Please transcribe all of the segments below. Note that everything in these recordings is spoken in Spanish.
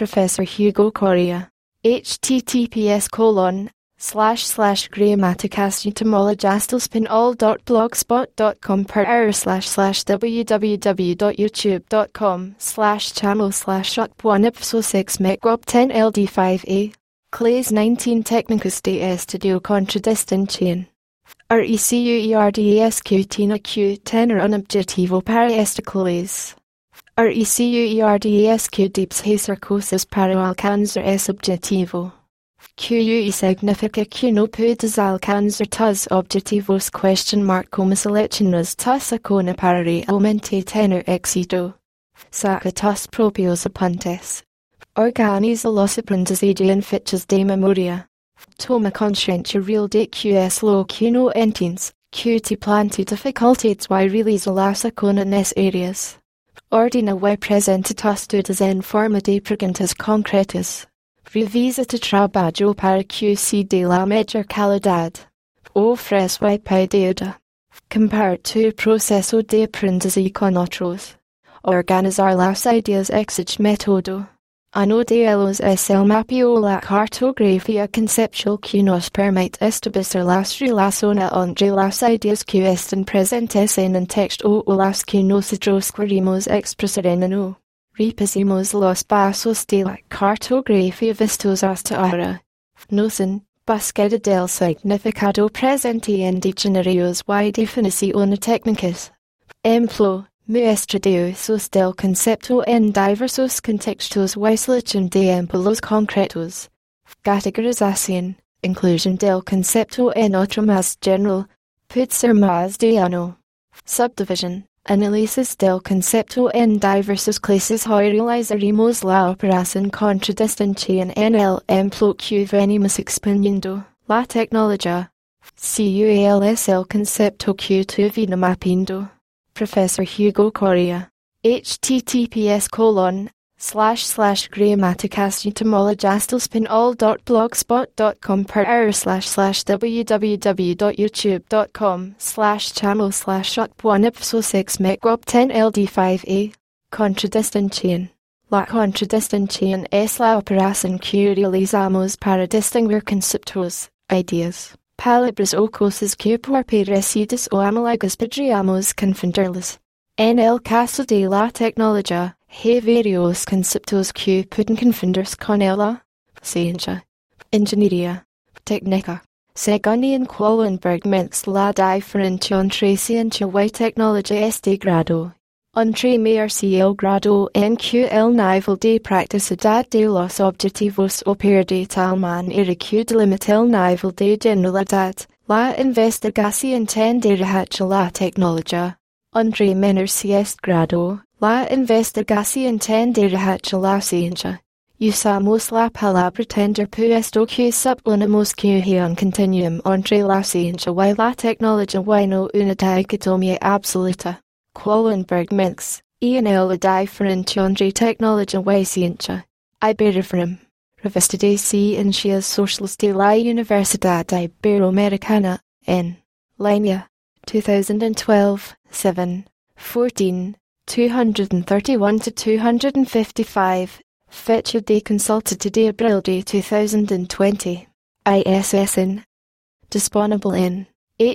Professor Hugo Correa. https://www.youtube.com/channel/up1ipso6mecrob10ld5a Clays 19 Technicus de Estudio Contradistinción. RECUERDASQ Q tenor unobjetivo para esta clase. RECUERDASQ deepshacer cosas para alcanzar esse objetivo. QUE significa que no puedes alcanzar tus objetivos? Como seleccionas tus acciones para realmente tener éxito? Saca tus propios apuntes. Organiza los aprendizajes en fichas de memoria. Toma consciência real de que es lo que no entiendes, que te plantea dificultades y realiza las acciones necesarias. Ordena y presenta tus dudas en forma de preguntas concretas. Revisa tu trabajo para que sea de la mejor calidad. Ofrece y pide ayuda. Compara tu proceso de aprendizaje con otros. Organizar las ideas exige método. Uno de ellos es el mapeo o la cartografía conceptual que nos permite establecer las relaciones entre las ideas que están presentes en un texto o las que nosotros queremos expresar en uno. Repasemos los pasos de la cartografía vistos hasta ahora. Noción, búsqueda del significado presente en diccionarios y definiciones técnicas. Empleo, muestra de usos del concepto en diversos contextos y selección de empleos concretos. Categorización, inclusión del concepto en otro más general, puede ser más de uno. Subdivision, análisis del concepto en diversas clases y realizaremos la operación contradistinción en el empleo que venimos exponiendo. La tecnología. CUEL es el concepto que tu vida mapeando. Professor Hugo Correa. https://grammaticas.all.blogspot.com/r/www.youtube.com/channel/up1ipso6mecrob10ld5a Contradistinción. La contradistinción es la operación que realizamos para distinguir conceptos, ideas, palabras o cosas que por parecidas o análogas podríamos confundirlas. En el caso de la tecnología, hay varios conceptos que pueden confundirse con ella. Ciencia, ingeniería, técnica. Según Ian Quallenberg mix la diferencia entre ciencia y tecnología es de grado. Entre medirse el grado en que el nivel de practicidad de los objetivos opera de tal manera que delimita el nivel de generalidad, la investigación tendida hacia la tecnología. Entre medirse este grado, la investigación tendida hacia la ciencia. Usamos la palabra tender puesto que supponemos que hay un continuum entre la ciencia y la tecnología y no una dicotomía absoluta. Quallenberg mix, en la diferencia entre tecnología y ciencia. Iberifram. Revista de Ciencias Sociales de la Universidad Iberoamericana, en línea. 2012, 7, 14, 231-255. Fecha de consulta de abril de 2020. ISSN. Disponible in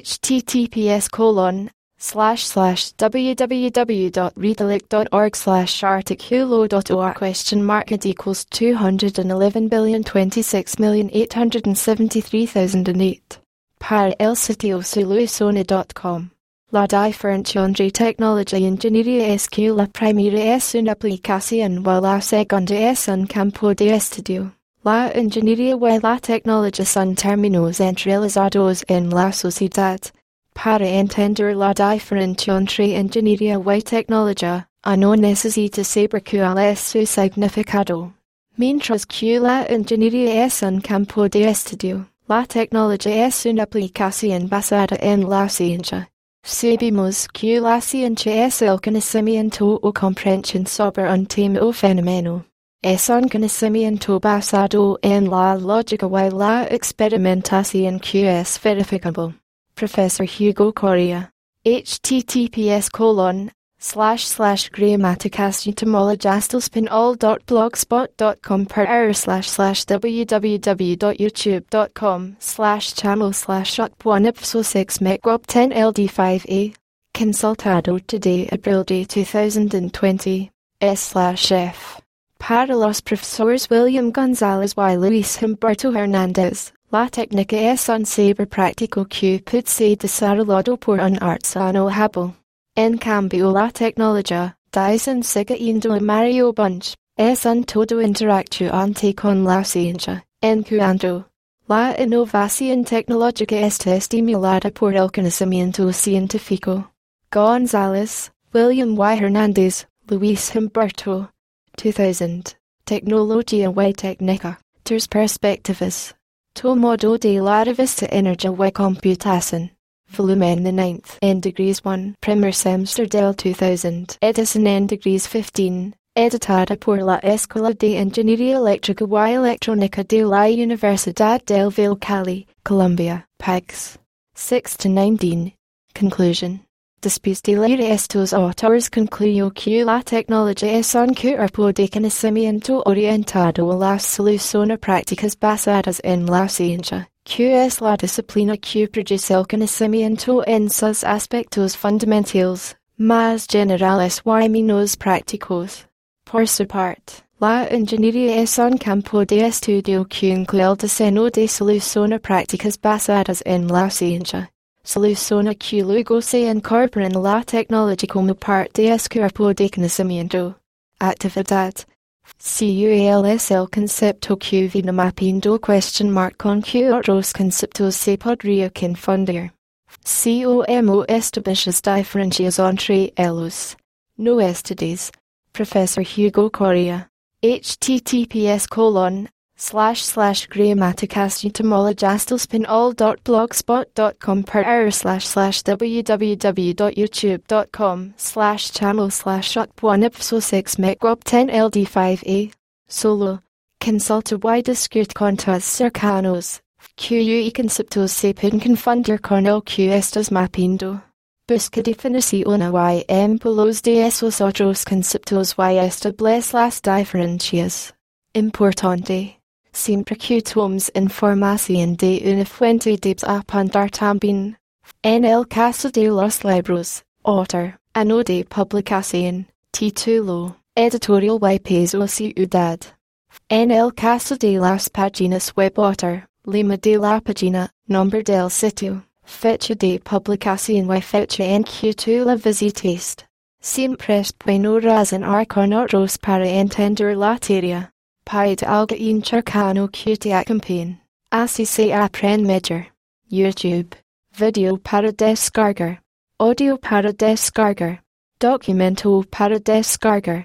https://www.redalyc.org/articulo.or $211,026,873,008. Para el sitio solucione.com. La diferencia entre tecnología y ingeniería es que la primera es una aplicación y la segunda es un campo de estudio. La ingeniería y la tecnología son términos entrelazados en la sociedad. Para entender la diferencia entre ingeniería y tecnología, uno necesita saber cuál es su significado. Mientras que la ingeniería es un campo de estudio, la tecnología es una aplicación basada en la ciencia. Sabemos que la ciencia es el conocimiento o comprensión sobre un tema o fenómeno. Es un conocimiento basado en la lógica y la experimentación que es verificable. Professor Hugo Correa. https:// //grammaticastamologastlespinall.blogspot.com per error www.youtube.com/channel/up1ipso6 mecrob 10 ld5a. Consultado today April Day 2020. S/F. Para los profesores William Gonzalez y Luis Humberto Hernández, la técnica es un saber práctico que puede ser desarrollado por un artesano hábil. En cambio la tecnología, dicen siguiendo a Mario Bunge, es un todo interactuante con la ciencia, en cuanto la innovación tecnológica está estimulada por el conocimiento científico. González, William Y. Hernández, Luis Humberto. 2000. Tecnología y técnica, tres perspectivas. Tomodo de la revista Energía y Computación. Volumen the 9th en Degrees 1, primer semester del 2000, edición en Degrees 15, editada por la Escuela de Ingeniería Eléctrica y Electrónica de la Universidad del Valle Cali, Colombia, Pags. 6-19. Conclusion. Después de leer estos autores concluyó que la tecnología es un cuerpo de conocimiento orientado a las soluciones prácticas basadas en la ciencia, que es la disciplina que produce el conocimiento en sus aspectos fundamentales, más generales y menos prácticos. Por su parte, la ingeniería es un campo de estudio que incluye el diseño de soluciones prácticas basadas en la ciencia. Soluciones que luego se incorporan a la tecnología como parte de ese cuerpo de conocimiento. Actividad. CUAL es el concepto que viene mapeando con que otros conceptos se podría confundir. Como establishas diferencias entre ellos. No estudies. Profesor Hugo Correa. https://grammaticastamologastlespinall.blogspot.com per error www.youtube.com/channel/up1ipso6 mecrob 10 ld5a. Solo. Consulta y discute con tus cercanos, que conceptos se pueden confundir con el que estás mapeando. Busca definiciones y ejemplos de esos otros conceptos y establece las diferencias. Importante. Siempre que tomes información de una fuente debes apuntar también. En el caso de los libros, autor, año de publicación, título, editorial y peso o ciudad. En el caso de las páginas web, autor, lema de la página, nombre del sitio, fecha de publicación y fecha en que tú la visitaste. Siempre es bueno razonar con otros para entender la teoría. Pide alguien cercano que te acompañe. Así se aprende mejor. YouTube. Video para descargar. Audio para descargar. Documento para descargar.